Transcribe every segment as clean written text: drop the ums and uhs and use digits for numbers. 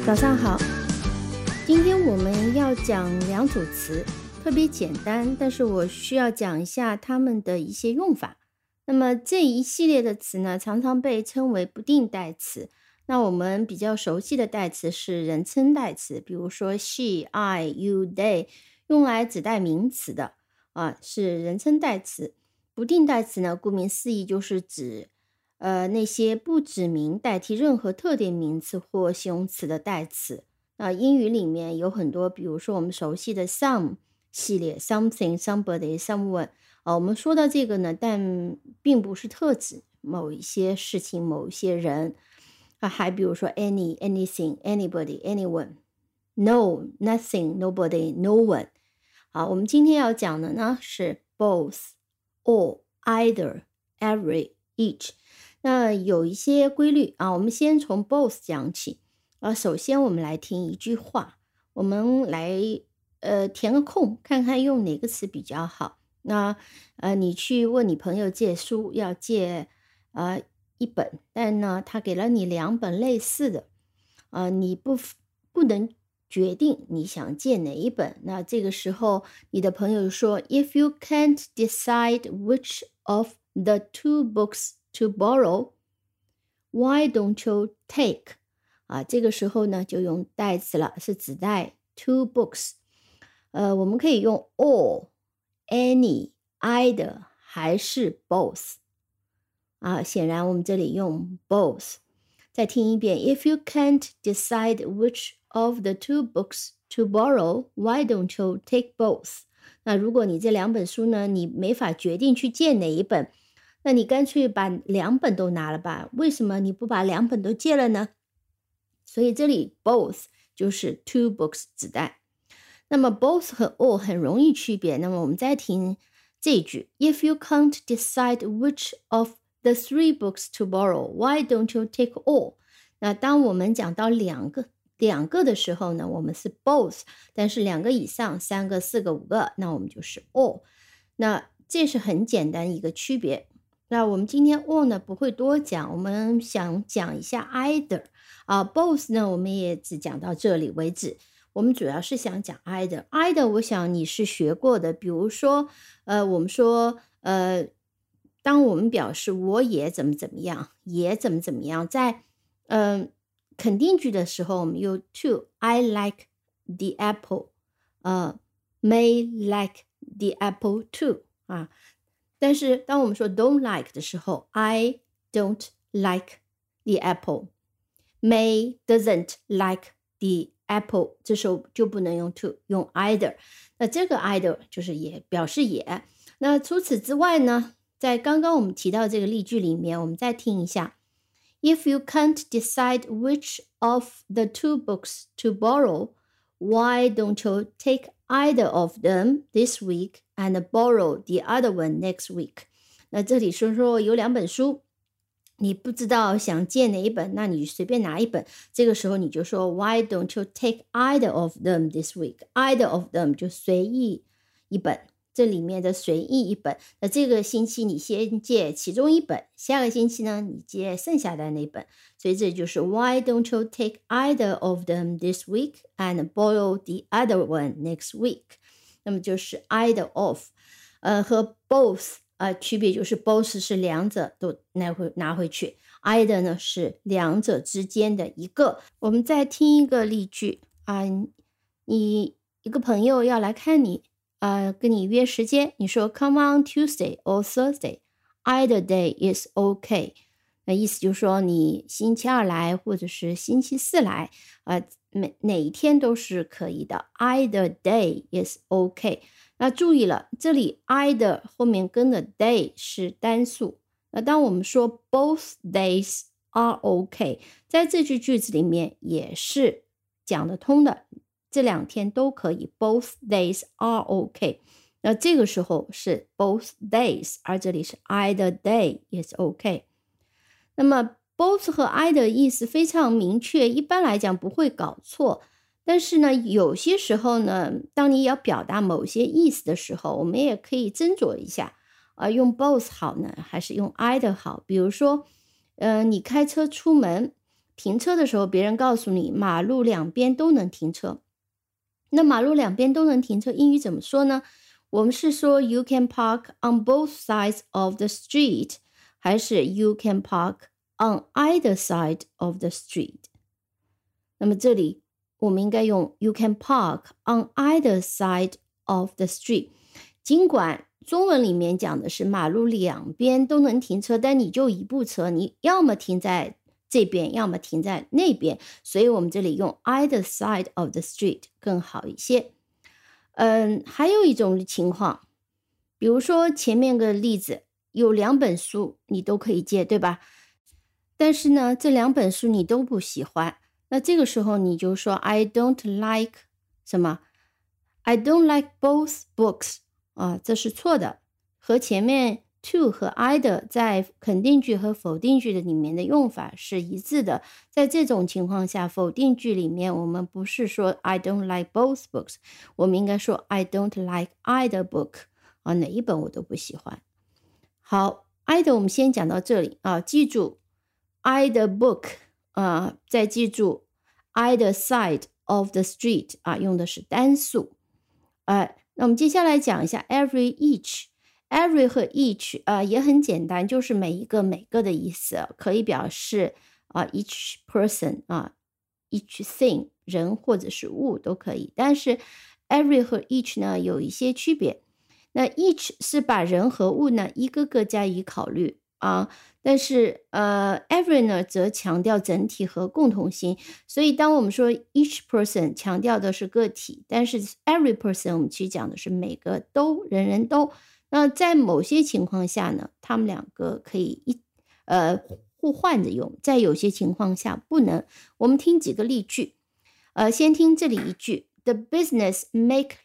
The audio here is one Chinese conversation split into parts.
早上好，今天我们要讲两组词，特别简单，但是我需要讲一下它们的一些用法。那么这一系列的词呢，常常被称为不定代词。那我们比较熟悉的代词是人称代词，比如说 she, I, you, they， 用来指代名词的是人称代词。不定代词呢，顾名思义就是指那些不指名代替任何特定名词或形容词的代词。英语里面有很多，比如说我们熟悉的 some 系列 something, somebody, someone。我们说到这个呢，但并不是特指某一些事情、某一些人。还比如说 any, anything, anybody, anyone, no, nothing, nobody, no one。我们今天要讲的呢是 both, all, either, every, each。那有一些规律我们先从 both 讲起。首先我们来听一句话，我们来填个空，看看用哪个词比较好。那你去问你朋友借书，要借一本，但呢他给了你两本类似的，你不能决定你想借哪一本。那这个时候你的朋友说 If you can't decide which of the two books to borrow, why don't you take？ 这个时候呢就用代词了，是指代 two books。我们可以用 all, any, either 还是 both。显然我们这里用 both。再听一遍 If you can't decide which of the two books to borrow, why don't you take both？ 那如果你这两本书呢，你没法决定去借哪一本，那你干脆把两本都拿了吧，为什么你不把两本都借了呢？所以这里 both 就是 two books 指代。那么 both 和 all 很容易区别，那么我们再听这一句 If you can't decide which of the three books to borrow, why don't you take all？ 那当我们讲到两个的时候呢，我们是 both， 但是两个以上三个四个五个，那我们就是 all。 那这是很简单一个区别。那我们今天 all 呢不会多讲，我们想讲一下 either。both 呢我们也只讲到这里为止，我们主要是想讲 either。 我想你是学过的，比如说我们说当我们表示我也怎么怎么样，也怎么怎么样，在肯定句的时候我们用 to。 I like the apple， may like the apple too。 但是当我们说 don't like 的时候 I don't like the apple， May doesn't like the apple， 这时候就不能用 to， 用 either。 那这个 either 就是也，表示也。那除此之外呢，在刚刚我们提到这个例句里面，我们再听一下 If you can't decide which of the two books to borrow, why don't you take either of them this week and borrow the other one next week？ 那这里说有两本书，你不知道想借哪一本，那你随便拿一本，这个时候你就说 Why don't you take either of them this week？ Either of them 就随意一本，这里面的随意一本，那这个星期你先借其中一本，下个星期呢你借剩下的那本，所以这就是 Why don't you take either of them this week and borrow the other one next week？ 那么就是 either of。和 both区别就是 both 是两者都拿回去， either 呢是两者之间的一个。我们再听一个例句你一个朋友要来看你，跟你约时间，你说 Come on Tuesday or Thursday, either day is okay。 那意思就是说你星期二来或者是星期四来，哪一天都是可以的， either day is okay。 那注意了，这里 either 后面跟的 day 是单数，那当我们说 both days are okay， 在这句句子里面也是讲得通的，这两天都可以， both days are okay。 那这个时候是 both days， 而这里是 either day is okay。 那么 both 和 either 意思非常明确，一般来讲不会搞错。但是呢，有些时候呢，当你要表达某些意思的时候，我们也可以斟酌一下，用 both 好呢，还是用 either 好？比如说，你开车出门， 停车的时候，别人告诉你马路两边都能停车，那马路两边都能停车，英语怎么说呢？我们是说 you can park on both sides of the street， 还是 you can park on either side of the street？ 那么这里我们应该用 you can park on either side of the street。 尽管中文里面讲的是马路两边都能停车，但你就一部车，你要么停在这边，要么停在那边，所以我们这里用 either side of the street 更好一些。还有一种情况，比如说前面个例子，有两本书你都可以借，对吧？但是呢，这两本书你都不喜欢，那这个时候你就说 I don't like 什么 I don't like both books 这是错的，和前面 to 和 either 在肯定句和否定句的里面的用法是一致的。在这种情况下，否定句里面我们不是说 I don't like both books， 我们应该说 I don't like either book 哪一本我都不喜欢。好， either 我们先讲到这里记住 either book 再记住 either side of the street 用的是单数。那我们接下来讲一下 every each。every 和 each 也很简单，就是每一个每个的意思，可以表示each person each thing 人或者是物都可以，但是 every 和 each 呢有一些区别。那 each 是把人和物呢一个个加以考虑但是every 呢则强调整体和共同性，所以当我们说 each person 强调的是个体，但是 every person 我们去讲的是每个都，人人都。那在某些情况下呢，他们两个可以互换着用，在有些情况下不能。我们听几个例句，先听这里一句 The business makes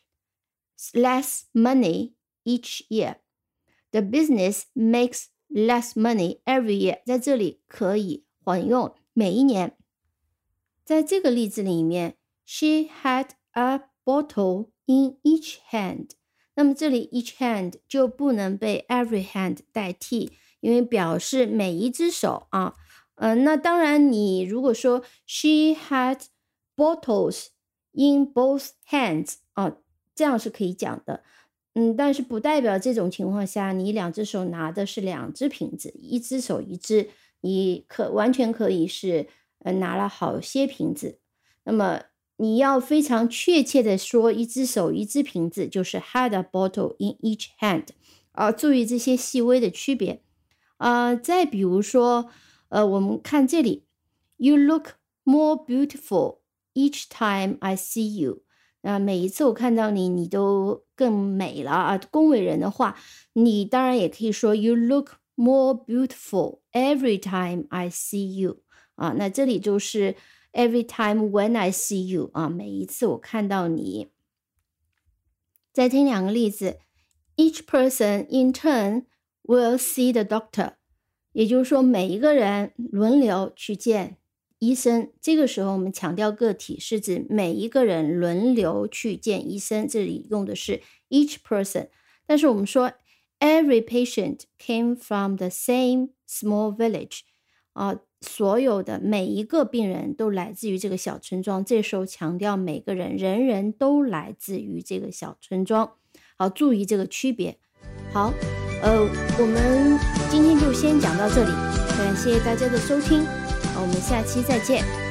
less money each year. The business makes less money every year. 在这里可以混用每一年。在这个例子里面 She had a bottle in each hand。那么这里 each hand 就不能被 every hand 代替，因为表示每一只手那当然你如果说 she had bottles in both hands 这样是可以讲的。但是不代表这种情况下你两只手拿的是两只瓶子，一只手一只，你完全可以是拿了好些瓶子。那么你要非常确切的说一只手一只瓶子，就是 had a bottle in each hand 注意这些细微的区别。再比如说我们看这里 You look more beautiful each time I see you。每一次我看到你，你都更美了恭维人的话，你当然也可以说 You look more beautiful every time I see you 那这里就是 every time when I see you 每一次我看到你。再听两个例子 Each person in turn will see the doctor， 也就是说每一个人轮流去见医生。这个时候我们强调个体，是指每一个人轮流去见医生，这里用的是 each person。 但是我们说 every patient came from the same small village 所有的每一个病人都来自于这个小村庄，这时候强调每个人，人人都来自于这个小村庄。好，注意这个区别。好我们今天就先讲到这里，感谢大家的收听，我们下期再见。